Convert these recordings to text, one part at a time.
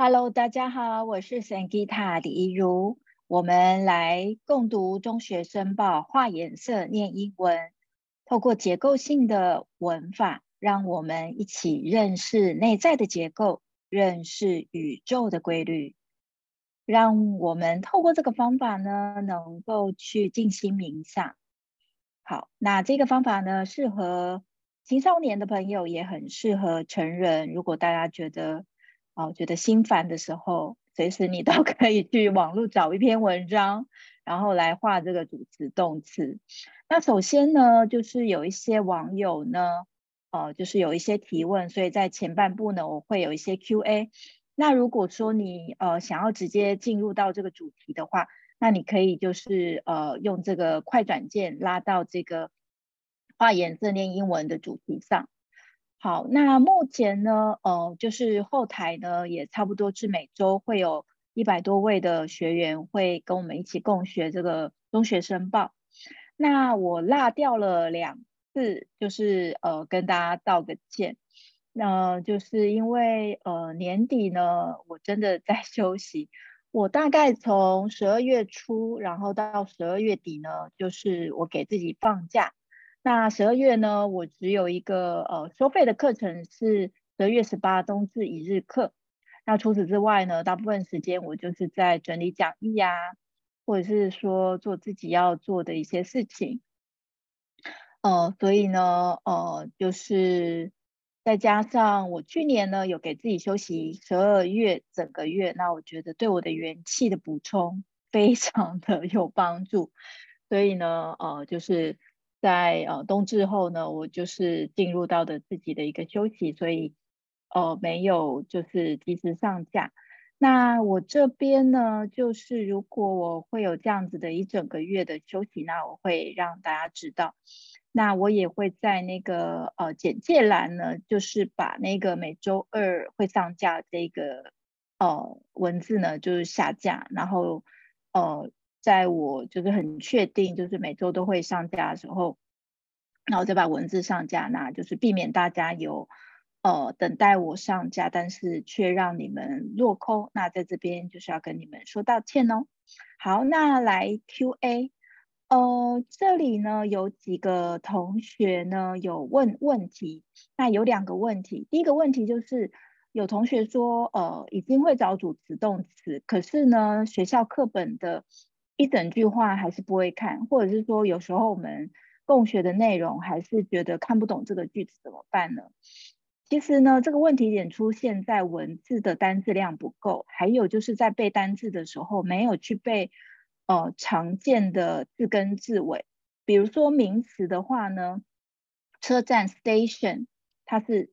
Hello，大家好，我是 Sangita 李怡如，我們來共讀中學申報，畫顏色念英文，透過結構性的文法，讓我們一起認識內在的結構，認識宇宙的規律。讓我們透過這個方法呢，能夠去靜心冥想。好，那這個方法呢，適合青少年的朋友，也很適合成人。如果大家覺得心煩的時候，隨時你都可以去網絡找一篇文章，然後來畫這個主詞動詞。那首先呢，就是有一些網友呢，就是有一些提問，所以在前半部呢，我會有一些 Q&A。那如果說你想要直接進入到這個主題的話，那你可以就是用這個快轉鍵拉到這個畫顏色念英文的主題上。好，那目前呢，就是後台呢也差不多是每周會有100多位的學員會跟我們一起共學這個中學申報。那我落掉了2次，就是跟大家道個歉。那就是因為年底呢，我真的在休息。我大概從12月初，然後到12月底呢，就是我給自己放假。那12月呢，我只有一個收費的課程是12月18冬至1日課。那除此之外呢，大部分時間我就是在整理講義啊，或者是說做自己要做的一些事情。所以呢，就是再加上我去年呢有給自己休息12月整個月，那我覺得對我的元氣的補充非常的有幫助。所以呢，就是在冬至後呢，我就是進入到的自己的一個休息，所以沒有就是及時上架。那我這邊呢，就是如果我會有這樣子的一整個月的休息，那我會讓大家知道。那我也會在那個簡介欄呢，就是把那個每周2會上架這個文字呢，就是下架，然後在我就是很確定就是每周都會上架的時候，然後再把文字上架，那就是避免大家有等待我上架，但是卻讓你們落空。那在這邊就是要跟你們說道歉哦。好，那來 Q&A。這裡呢有幾個同學呢有問問題，那有2個問題。第一個問題就是有同學說已經會找主詞動詞，可是呢學校課本的一整句話還是不會看，或者是說有時候我們共學的內容還是覺得看不懂這個句子怎麼辦呢？其實呢這個問題點出現在文字的單字量不夠，還有就是在背單字的時候沒有去背常見的字根字尾。比如說名詞的話呢，車站 station 它是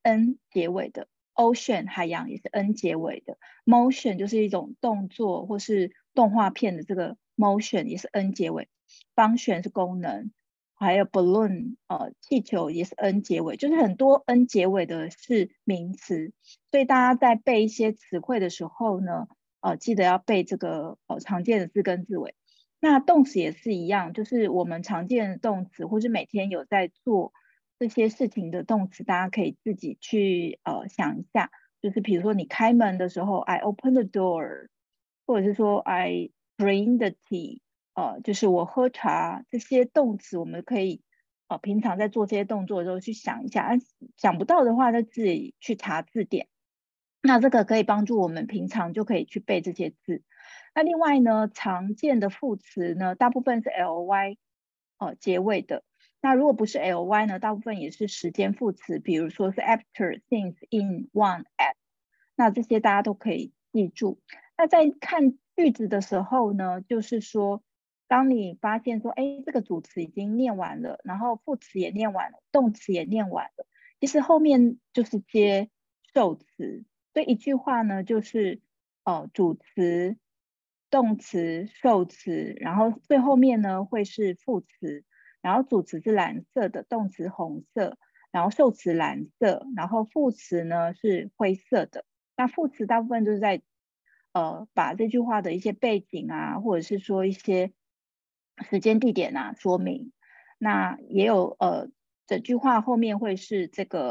n 結尾的， ocean 海洋也是 n 結尾的， motion 就是一種動作或是動畫片的這個 motion 也是 n 結尾， function 是功能，還有 balloon 氣球也是 n 結尾，就是很多 n 結尾的是名詞。所以大家在背一些詞彙的時候呢，記得要背這個常見的字根字尾。那動詞也是一樣，就是我們常見的動詞或是每天有在做這些事情的動詞，大家可以自己去想一下。就是比如說你開門的時候 I open the door， 或者是說 I bring the tea， 就是我喝茶，這些動詞我們可以平常在做這些動作的時候去想一下，想不到的話就自己去查字典。那這個可以幫助我們平常就可以去背這些字。那另外呢，常見的副詞呢，大部分是 ly 結尾的。那如果不是 ly 呢，大部分也是時間副詞，比如說是 after、since、in、on、at。那這些大家都可以記住。那在看句子的時候呢，就是說，當你發現說，這個主詞已經念完了，然後副詞也念完了，動詞也念完了，其實後面就是接受詞。所以一句話呢，就是主詞、動詞、受詞，然後最後面呢會是副詞，然後主詞是藍色的，動詞紅色，然後受詞藍色，然後副詞呢是灰色的。那副詞大部分就是在把這句話的一些背景啊，或者是說一些時間地點啊說明。那也有整句話後面會是這個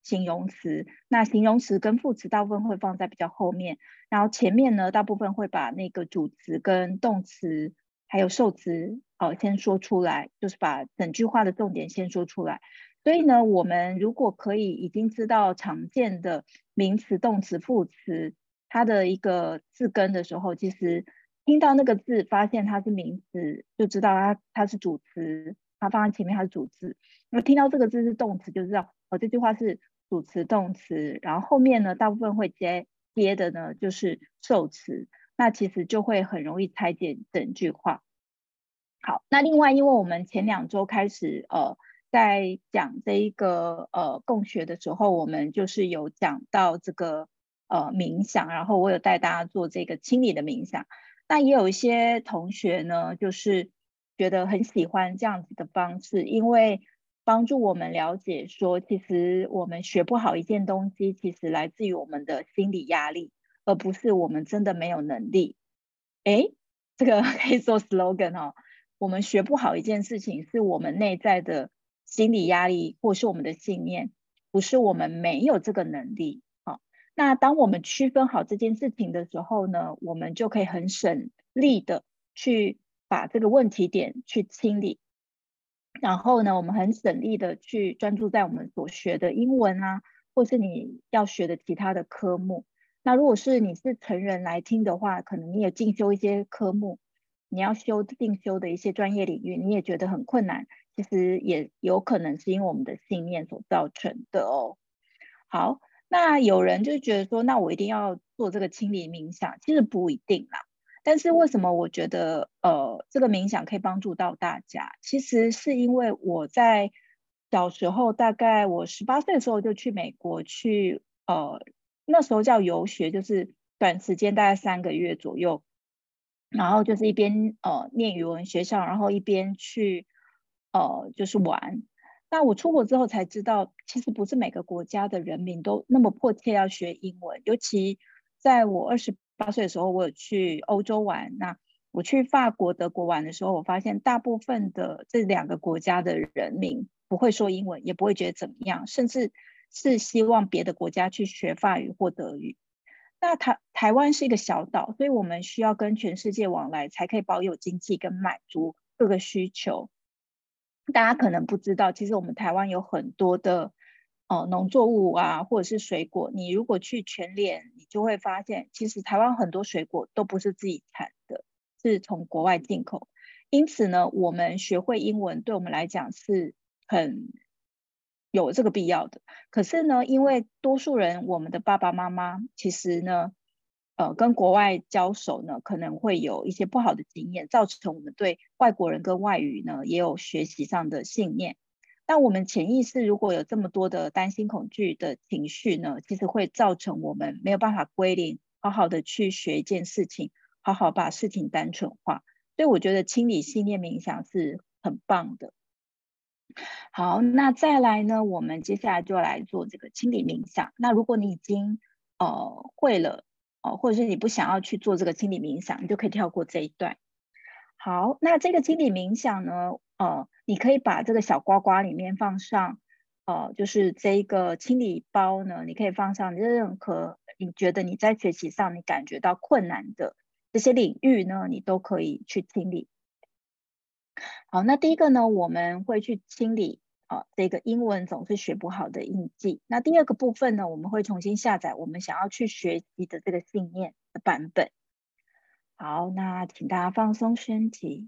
形容詞，那形容詞跟副詞大部分會放在比較後面，然後前面呢大部分會把那個主詞跟動詞還有受詞先說出來，就是把整句話的重點先說出來。所以呢，我們如果可以已經知道常見的名詞、動詞、副詞它的一個字根的時候，其實聽到那個字發現它是名詞，就知道它是主詞，它放在前面它是主詞。那聽到這個字是動詞，就知道這句話是主詞動詞，然後後面呢大部分會接的呢就是受詞，那其實就會很容易拆解整句話。好，那另外因為我們前2週開始在講這一個共學的時候，我們就是有講到這個冥想，然後我有帶大家做這個清理的冥想。那也有一些同學呢，就是覺得很喜歡這樣子的方式，因為幫助我們了解說，其實我們學不好一件東西，其實來自於我們的心理壓力，而不是我們真的沒有能力。這個可以做 slogan 哦。我們學不好一件事情，是我們內在的心理壓力，或是我們的信念，不是我們沒有這個能力。那當我們區分好這件事情的時候呢，我們就可以很省力的去把這個問題點去清理。然後呢，我們很省力的去專注在我們所學的英文啊，或是你要學的其他的科目。那如果是你是成人來聽的話，可能你也進修一些科目，你要進修的一些專業領域，你也覺得很困難，其實也有可能是因為我們的信念所造成的哦。好，那有人就覺得說，那我一定要做這個清理冥想，其實不一定啦。但是為什麼我覺得這個冥想可以幫助到大家？其實是因為我在小時候，大概我18歲的時候就去美國去那時候叫遊學，就是短時間大概3個月左右，然後就是一邊念語文學校，然後一邊去就是玩。那我出國之後才知道，其實不是每個國家的人民都那麼迫切要學英文。尤其在我28歲的時候，我有去歐洲玩。那我去法國、德國玩的時候，我發現大部分的這2個國家的人民不會說英文，也不會覺得怎麼樣，甚至是希望別的國家去學法語或德語。那台灣是一個小島，所以我們需要跟全世界往來，才可以保有經濟跟滿足各個需求。大家可能不知道，其實我們台灣有很多的農作物啊，或者是水果。你如果去全聯，你就會發現，其實台灣很多水果都不是自己產的，是從國外進口。因此呢，我們學會英文對我們來講是很有這個必要的。可是呢，因為多數人，我們的爸爸媽媽其實呢，跟國外交手呢，可能會有一些不好的經驗，造成我們對外國人跟外語呢也有學習上的信念。但我們潛意識如果有這麼多的擔心、恐懼的情緒呢，其實會造成我們沒有辦法歸零，好好的去學一件事情，好好把事情單純化。所以我覺得清理信念冥想是很棒的。好，那再來呢，我們接下來就來做這個清理冥想。那如果你已經會了或者是你不想要去做這個清理冥想，你就可以跳過這一段。好，那這個清理冥想呢，你可以把這個小瓜瓜裡面放上就是這一個清理包呢，你可以放上任何你覺得你在學習上你感覺到困難的這些領域呢，你都可以去清理。好，那第一個呢，我們會去清理這個英文總是學不好的印記。那第二個部分呢，我們會重新下載我們想要去學習的這個信念的版本。好，那請大家放鬆身體，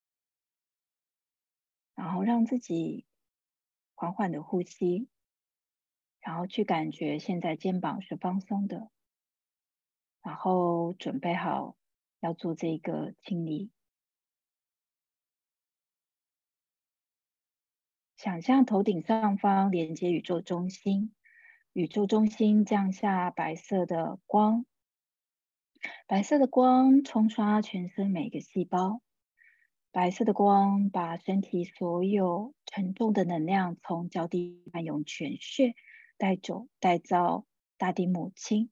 然後讓自己緩緩的呼吸，然後去感覺現在肩膀是放鬆的，然後準備好要做這個清理。想象頭頂上方連接宇宙中心，宇宙中心降下白色的光，白色的光沖刷全身每個細胞，白色的光把身體所有沉重的能量從腳底漫遊全穴帶走，帶到大地母親，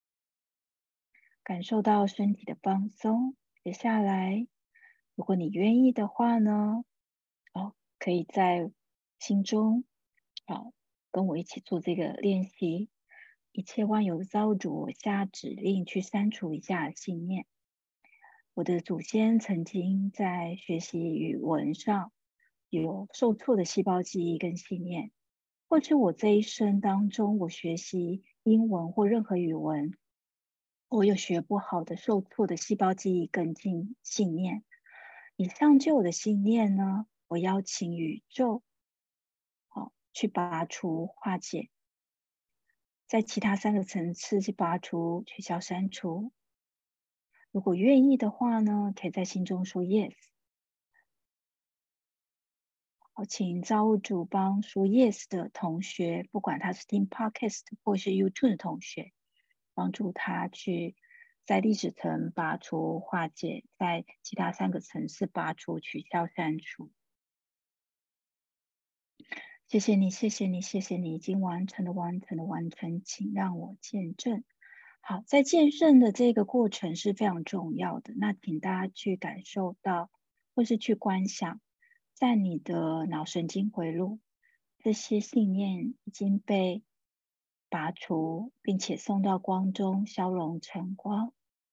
感受到身體的放鬆。接下來，如果你願意的話呢，可以在心中跟我一起做這個練習。一切萬有造物主，我下指令去刪除以下信念。我的祖先曾經在學習語文上有受挫的細胞記憶跟信念，或是我這一生當中，我學習英文或任何語文，我有學不好的受挫的細胞記憶跟信念。以上舊的信念呢，我邀請宇宙去拔除化解，在其他3個層次去拔除、取消、刪除。如果願意的話呢，可以在心中說 yes。好，請造物主幫說 yes 的同學，不管他是聽 podcast 或是 YouTube 的同學，幫助他去在歷史層拔除化解，在其他3個層次拔除、取消、刪除。謝謝你，謝謝你，謝謝你已經完成了，完成，請讓我見證。好，在見證的這個過程是非常重要的。那請大家去感受到，或是去觀想，在你的腦神經回路，這些信念已經被拔除，並且送到光中，消融成光。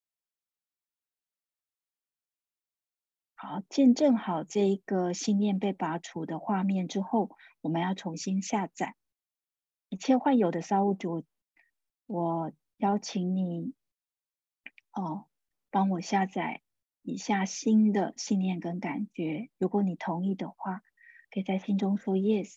好，見證好這一個信念被拔除的畫面之後，我們要重新下載。一切萬有的造物主，我邀請你幫我下載以下新的信念跟感覺。如果你同意的話，可以在心中說 yes。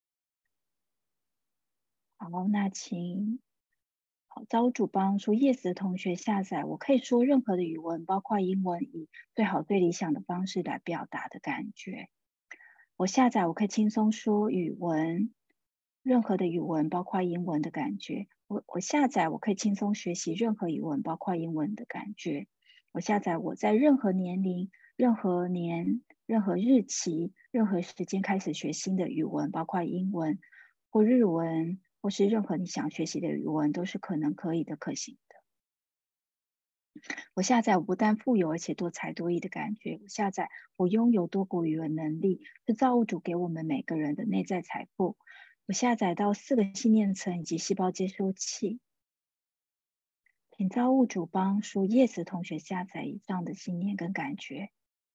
好，那請造物主幫說 yes 的同學下載。我可以說任何的語文，包括英文，以最好最理想的方式來表達的感覺。我下載，我可以輕鬆說語文，任何的語文，包括英文的感覺。我下載，我可以輕鬆學習任何語文，包括英文的感覺。我下載，我在任何年齡、任何年、任何日期、任何時間開始學新的語文，包括英文或日文，或是任何你想學習的語文，都是可以的、可行的。我下載，我不但富有，而且多才多藝的感覺。我下載，我擁有多國語文能力，是造物主給我們每個人的內在財富。我下載到4個信念層以及細胞接收器。請造物主幫說 yes 的同學下載以上的信念跟感覺。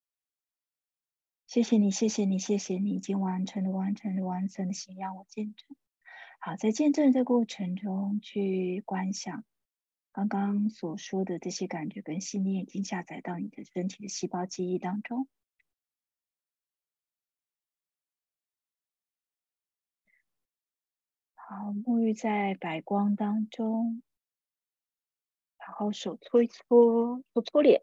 謝謝你，謝謝你，謝謝你已經完成了，請讓我見證。好，在見證這個過程中去觀想剛剛所說的這些感覺跟信念已經下載到你的身體的細胞記憶當中。好，沐浴在白光當中，然後手搓一搓，搓臉，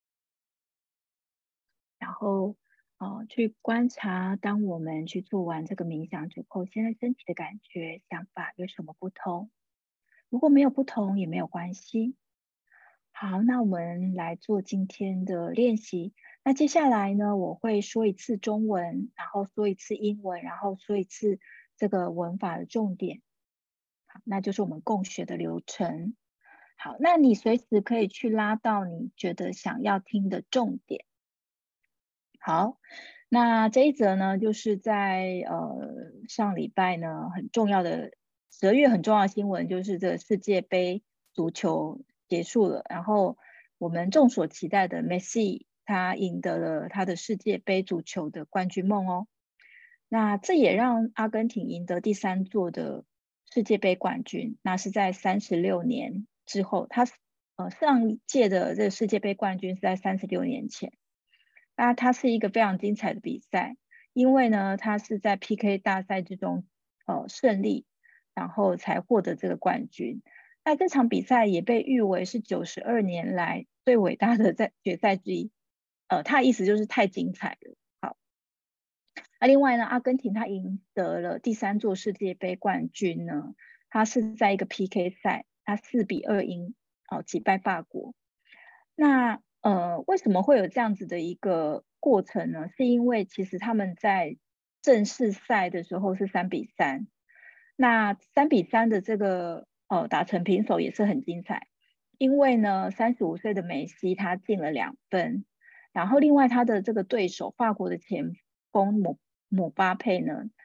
然後去觀察，當我們去做完這個冥想之後，現在身體的感覺、想法有什麼不同？如果沒有不同也沒有關係。好，那我們來做今天的練習。那接下來呢，我會說一次中文，然後說一次英文，然後說一次這個文法的重點。好，那就是我們共學的流程。好，那你隨時可以去拉到你覺得想要聽的重點。好，那這一則呢，就是在上禮拜呢很重要的12月很重要的新聞，就是這個世界杯足球結束了，然後我們眾所期待的梅西他贏得了他的世界杯足球的冠軍夢哦。那這也讓阿根廷贏得第3座的世界杯冠軍，那是在36年之後，他上一屆的這個世界杯冠軍是在36年前。那它是一個非常精彩的比賽，因為呢，它是在 PK 大賽之中勝利，然後才獲得這個冠軍。那這場比賽也被譽為是92年來最偉大的決賽之一。它的意思就是太精彩了。好，那另外呢，阿根廷它贏得了第3座世界杯冠軍呢，它是在一個 PK 賽，它4-2擊敗法國。那為什麼會有這樣子的一個過程呢？是因為其實他們在正式賽的時候是3-3，那3-3的這個打成平手也是很精彩，因為呢35歲的梅西他進了2分，然後另外他的這個對手法國的前鋒姆巴佩呢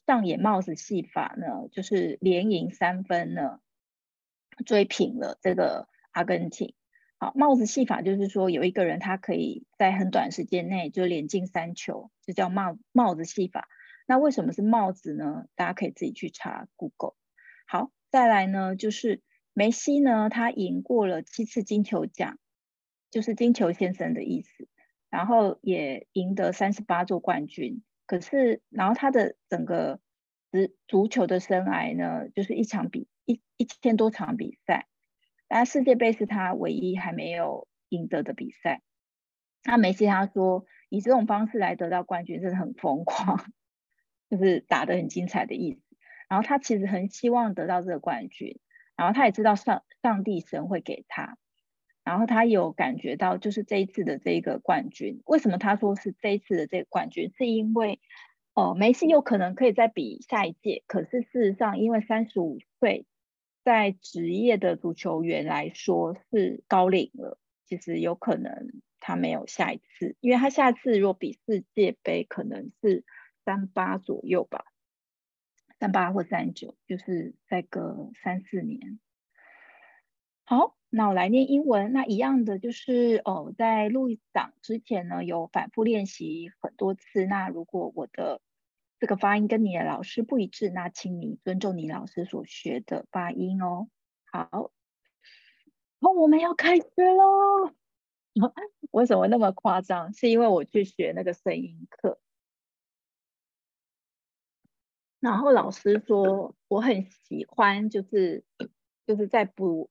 上演帽子戲法呢，就是連贏3分呢，追平了這個阿根廷。好，帽子戲法就是說有一個人他可以在很短時間內就連進3球，就叫帽子戲法。那為什麼是帽子呢？大家可以自己去查 Google。好，再來呢，就是梅西呢，他贏過了7次金球獎，就是金球先生的意思，然後也贏得38座冠軍。可是，然後他的整個足球的生涯呢，就是1000多場比賽，但世界杯是他唯一還沒有贏得的比賽。那梅西他說，以這種方式來得到冠軍真的很瘋狂，就是打得很精彩的意思。然後他其實很希望得到這個冠軍，然後他也知道上帝神會給他，然後他有感覺到就是這一次的這個冠軍，為什麼他說是這一次的這個冠軍，是因為梅西有可能可以再比下一屆，可是事實上因為35歲在職業的足球員來說是高齡了，其實有可能他沒有下一次，因為他下次如果比世界杯可能是38左右吧，38或39，就是再隔3-4年。好，那我來念英文。那一樣的就是在錄檔之前呢，有反覆練習很多次。那如果我的這個發音跟你的老師不一致，那請你尊重你老師所學的發音哦。好，我們要開始嘍。為什麼那麼誇張？是因為我去學那個聲音課，然後老師說我很喜歡，就是在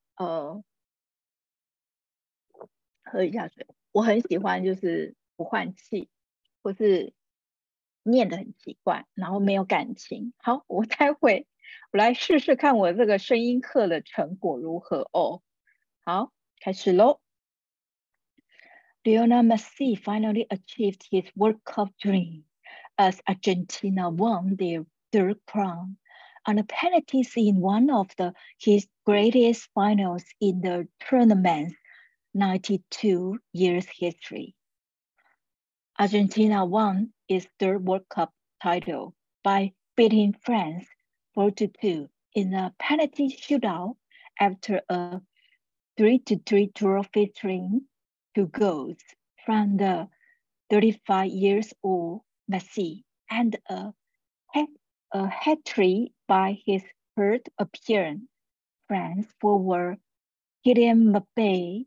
喝一下水。我很喜歡就是不換氣，或是念得很奇怪，然後沒有感情。好，我待會我來試試看我這個聲音課的成果如何哦。好，開始嘍。Lionel Messi finally achieved his World Cup dream as Argentina won their third crown on a penalties in one of his greatest finals in the tournament's 92 years history. Argentina won its third World Cup title by beating France 4-2 in a penalty shootout after a 3-3 draw featuring 2 goals from the 35-year-old Messi and a hat-trick by his third appearance, France forward Kylian Mbappé.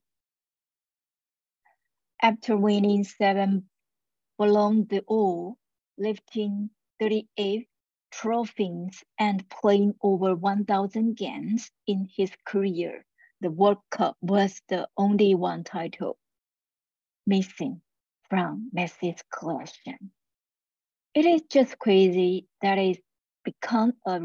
After winning 7 Ballon d'Or, lifting 38 trophies and playing over 1,000 games in his career, the World Cup was the only one title missing from Messi's collection. It is just crazy that it's become a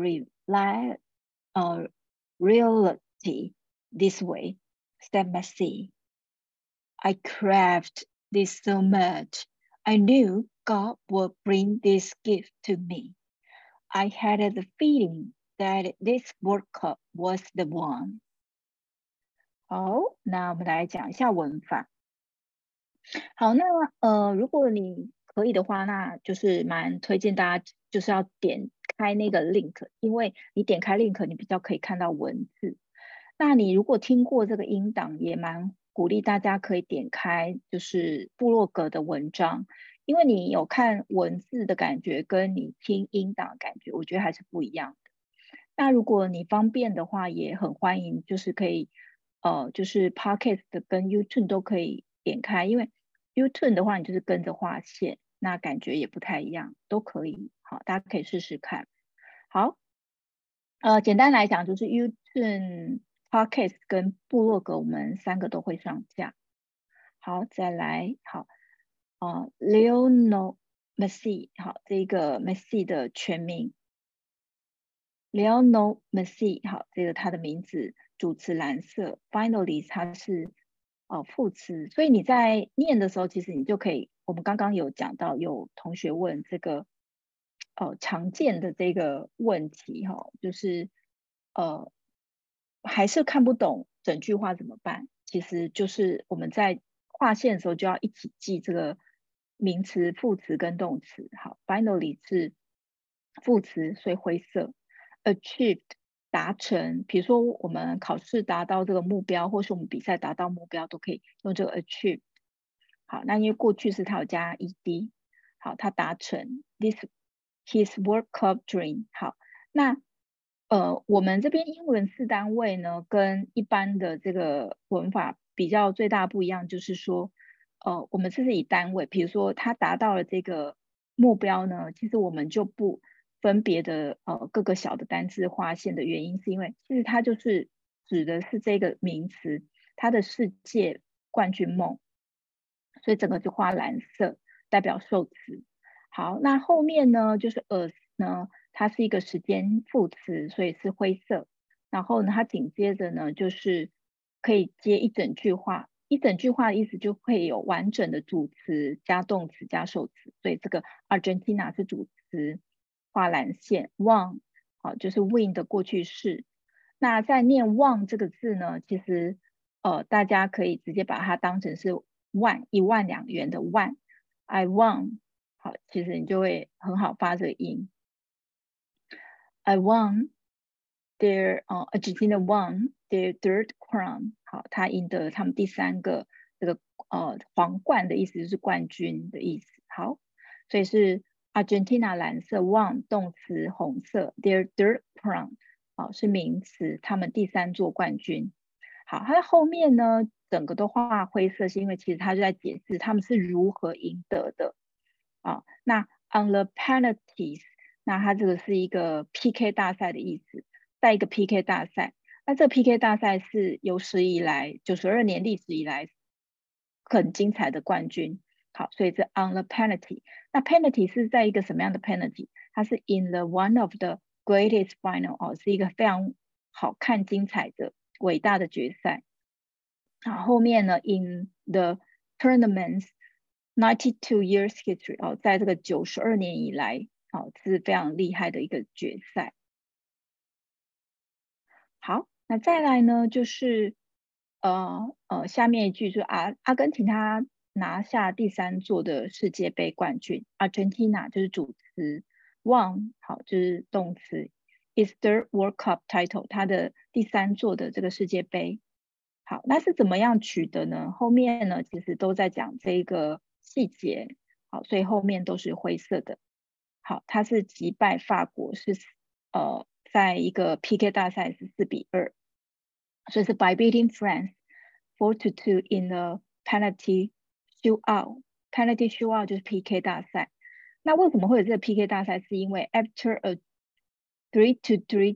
reality this way, said Messi. I craved this so much. I knew God would bring this gift to me. I had the feeling that this World Cup was the one. 好，那我們來講一下文法。好，那如果你可以的話，那就是蠻推薦大家就是要點開那個 link， 因為你點開 link， 你比較可以看到文字。那你如果聽過這個音檔，也蠻鼓勵大家可以點開就是部落格的文章，因為你有看文字的感覺跟你聽音檔的感覺，我覺得還是不一樣的。那如果你方便的話，也很歡迎，就是可以就是 Podcast 跟 YouTube 都可以點開，因為 YouTube 的話你就是跟着畫線，那感覺也不太一樣，都可以。好，大家可以試試看。好，簡單來講就是 YouTube、Podcast 跟部落格，我們3個都會上架。好，再來，好，Lionel Messi， 好，這個 Messi 的全名 Lionel Messi， 好，這個他的名字主詞藍色 ，finally 它是副詞，所以你在念的時候，其實你就可以，我們剛剛有講到，有同學問這個常見的這個問題哈，就是還是看不懂整句話怎麼辦？其實就是我們在劃線的時候就要一起記這個名詞、副詞跟動詞。好 ，finally 是副詞，所以灰色。Achieved 達成，比如說我們考試達到這個目標，或是我們比賽達到目標，都可以用這個 achieved。好，那因為過去式它有加 ed， 好，它達成 his World Cup dream。好，那我們這邊英文4單位呢，跟一般的這個文法比較最大不一樣，就是說，我們這是以單位，比如說他達到了這個目標呢，其實我們就不分別的各個小的單字劃線的原因，是因為其實它就是指的是這個名詞，他的世界冠軍夢，所以整個就畫藍色，代表受詞。好，那後面呢，就是 as 呢，它是一個時間副詞，所以是灰色。然後呢，它緊接着呢，就是可以接一整句話，一整句話的意思就會有完整的主詞加動詞加受詞，所以這個 Argentina 是主詞，畫藍線。won 好，就是 win 的過去式。那在念 won 這個字呢，其實大家可以直接把它當成是100,000元的萬 I won。好，其實你就會很好發這個音。I won their Argentina won their third crown。好，他贏得他們第3個這個皇冠的意思，就是冠軍的意思。好，所以是 Argentina 藍色 won 動詞紅色 their third crown 好，是名詞，他們第3座冠軍。好，它的後面呢，整個都畫灰色，是因為其實它就在解釋他們是如何贏得的。那 on the penalties， 那它這個是一個 PK 大賽的意思，在一個 PK 大賽。那這個 PK 大賽是有史以來92年歷史以來很精彩的冠軍。好，所以這 on the penalty。那 penalty 是在一個什麼樣的 penalty？ 它是 in the one of the greatest final， 是一個非常好看精彩的偉大的決賽。好，後面呢 in the tournaments 92 years history， 在這個92年以來，是非常厲害的一個決賽。好，那再來呢，就是下面一句就是阿根廷他拿下第3座的世界杯冠軍 ，Argentina 就是主詞 ，won 好就是動詞 ，is the World Cup title 他的第3座的這個世界杯。好，那是怎麼樣取得呢？後面呢，其實都在講這個細節。好，所以後面都是灰色的。好，他是擊敗法國，是在一個 PK 大賽是4-2，所以是 by beating France 4-2 in the penalty shootout。penalty shootout 就是 PK 大賽。那為什麼會有這個 PK 大賽？是因為 after a 3-3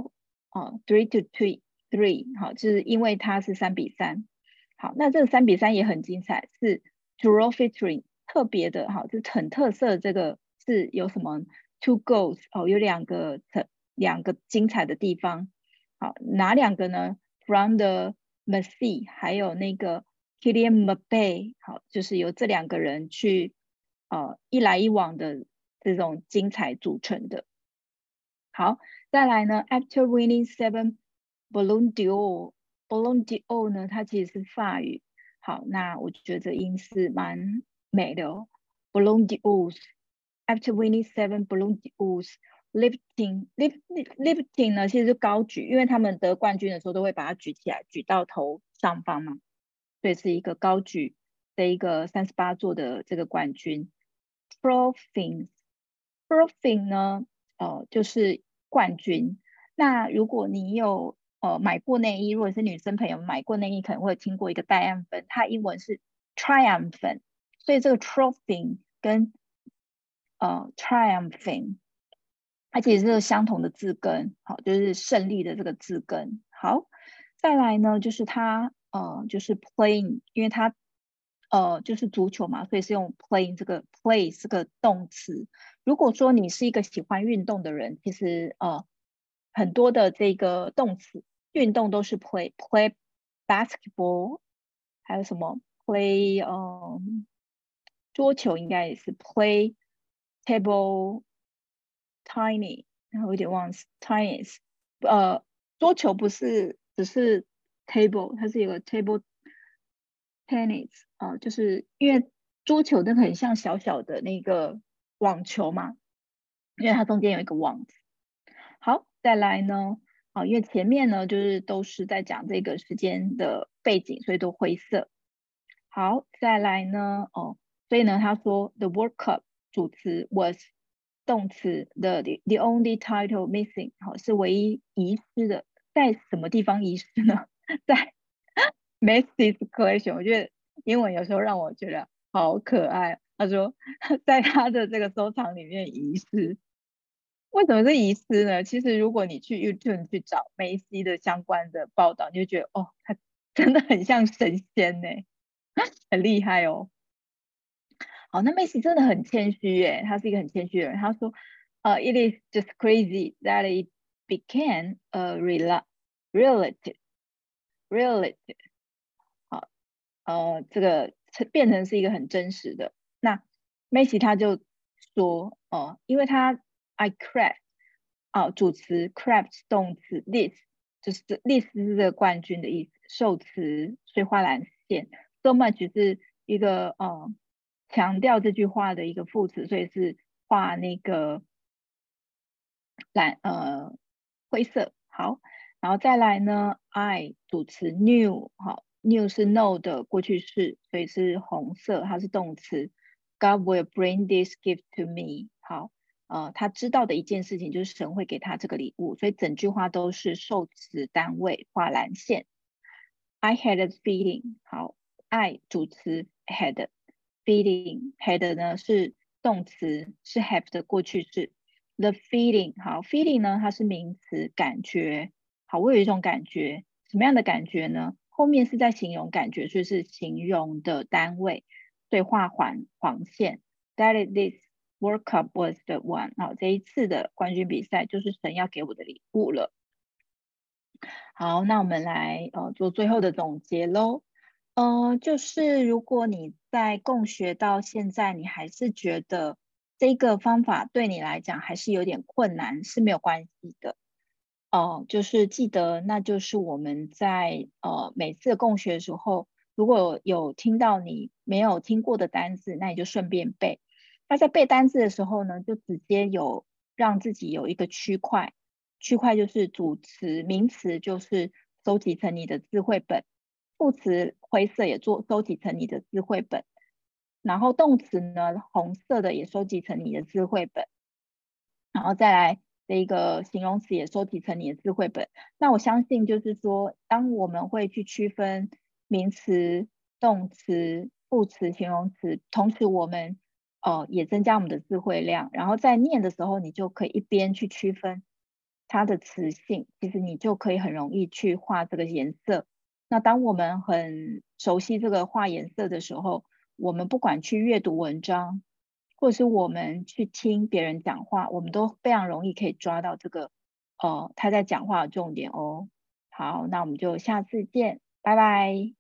draw，3-3 好，就是因為它是3-3。好，那這個3-3也很精彩，是 draw featuring 特別的，好，就是很特色的。這個是有什麼 two goals 有兩個精彩的地方。好，哪2個呢？ From the Messi 還有那個 Kylian Mbappé， 好，就是由這2個人去一來一往的這種精彩組成的。好，再來呢 After winning 7 Ballon d'Or，Ballon d'Or 呢，它其實是法語。好，那我覺得這音是蠻美的哦。Ballon d'Or，After winning 7 Ballon d'Or，lifting 呢，其實是高舉，因為他們得冠軍的時候都會把它舉起來，舉到頭上方嘛，所以是一個高舉的一個38座的這個冠軍。Trophy 呢，就是冠軍。那如果你有買過內衣，如果是女生朋友買過內衣，可能會聽過一個戴安粉，它英文是 triumphant， 所以這個 trophy 跟triumphing， 它其實是相同的字根，好，就是勝利的這個字根。好，再來呢，就是它就是 playing， 因為它就是足球嘛，所以是用 playing 這個 play 這個動詞。如果說你是一個喜歡運動的人，其實很多的這個動詞運動都是 play basketball， 還有什麼 play 桌球應該也是 play table tennis， 然後有點忘了 tennis， 桌球不是只是 table， 它是有個 table tennis， 就是因為桌球那個很像小小的那個網球嘛， 因為它中間有一個 want。好，再來呢，因為前面呢就是都是在講這個時間的背景，所以都灰色。好，再來呢，所以呢他說 the World Cup 主詞 was 動詞 the only title missing， 是唯一遺失的。在什麼地方遺失呢？在 Macy's collection。 我覺得英文有時候讓我覺得好可愛。他說在他的這個收藏裡面遺失。為什麼是遺失呢？其實如果你去 YouTube 去找梅西的相關的報道，你就覺得他真的很像神仙耶，很厲害哦。好，那梅西真的很謙虛耶，他是一個很謙虛的人。他說it is just crazy that it became a reality。 好，這個變成是一個很真實的。那梅西他就說因為他I craft 主詞 craft 動詞 this 就是 this 是這個冠軍的意思，受詞所以畫藍線 so much 是一個強調這句話的一個副詞，所以是畫那個灰色。好，然後再來呢 I 主詞 knew。 好， knew 是 know 的過去式，所以是紅色，它是動詞。 God will bring this gift to me。 好，他知道的一件事情就是神會給他這個禮物，所以整句話都是受詞單位畫藍線。 I had a feeling。 好， I 主詞 had feeling had 呢是動詞，是 have 的過去式。 The feeling。 好， feeling 呢它是名詞，感覺。好，我有一種感覺，什麼樣的感覺呢？後面是在形容感覺，所以是形容的單位，所以畫黃線。 That is this World Cup was the one。 好，這一次的冠軍比賽就是神要給我的禮物了。好，那我們來做最後的總結咯。就是如果你在共學到現在，你還是覺得這個方法對你來講還是有點困難，是沒有關係的。就是記得，那就是我們在每次共學的時候，如果有聽到你沒有聽過的單字，那你就順便背。那在背單字的時候呢，就直接讓自己有一個區塊就是主詞名詞就是收集成你的字彙本，副詞灰色也收集成你的字彙本，然後動詞呢紅色的也收集成你的字彙本，然後再來這一個形容詞也收集成你的字彙本。那我相信就是說，當我們會去區分名詞、動詞、副詞、形容詞，同時我們也增加我們的字彙量，然後在念的時候，你就可以一邊去區分它的詞性，其實你就可以很容易去畫這個顏色。那當我們很熟悉這個畫顏色的時候，我們不管去閱讀文章，或者是我們去聽別人講話，我們都非常容易可以抓到這個他在講話的重點哦。好，那我們就下次見，拜拜。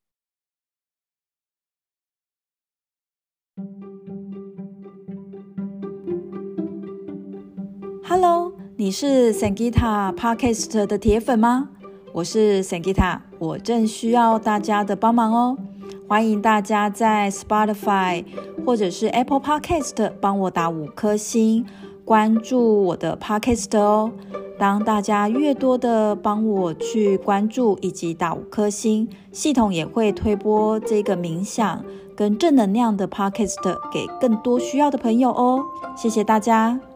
Hello， 你是 Sangita Podcast 的鐵粉嗎？我是 Sangita， 我正需要大家的幫忙哦。歡迎大家在 Spotify 或者是 Apple Podcast 幫我打5顆星，關注我的 Podcast 哦。當大家越多的幫我去關注以及打5顆星，系統也會推播這個冥想跟正能量的 Podcast 給更多需要的朋友哦。謝謝大家。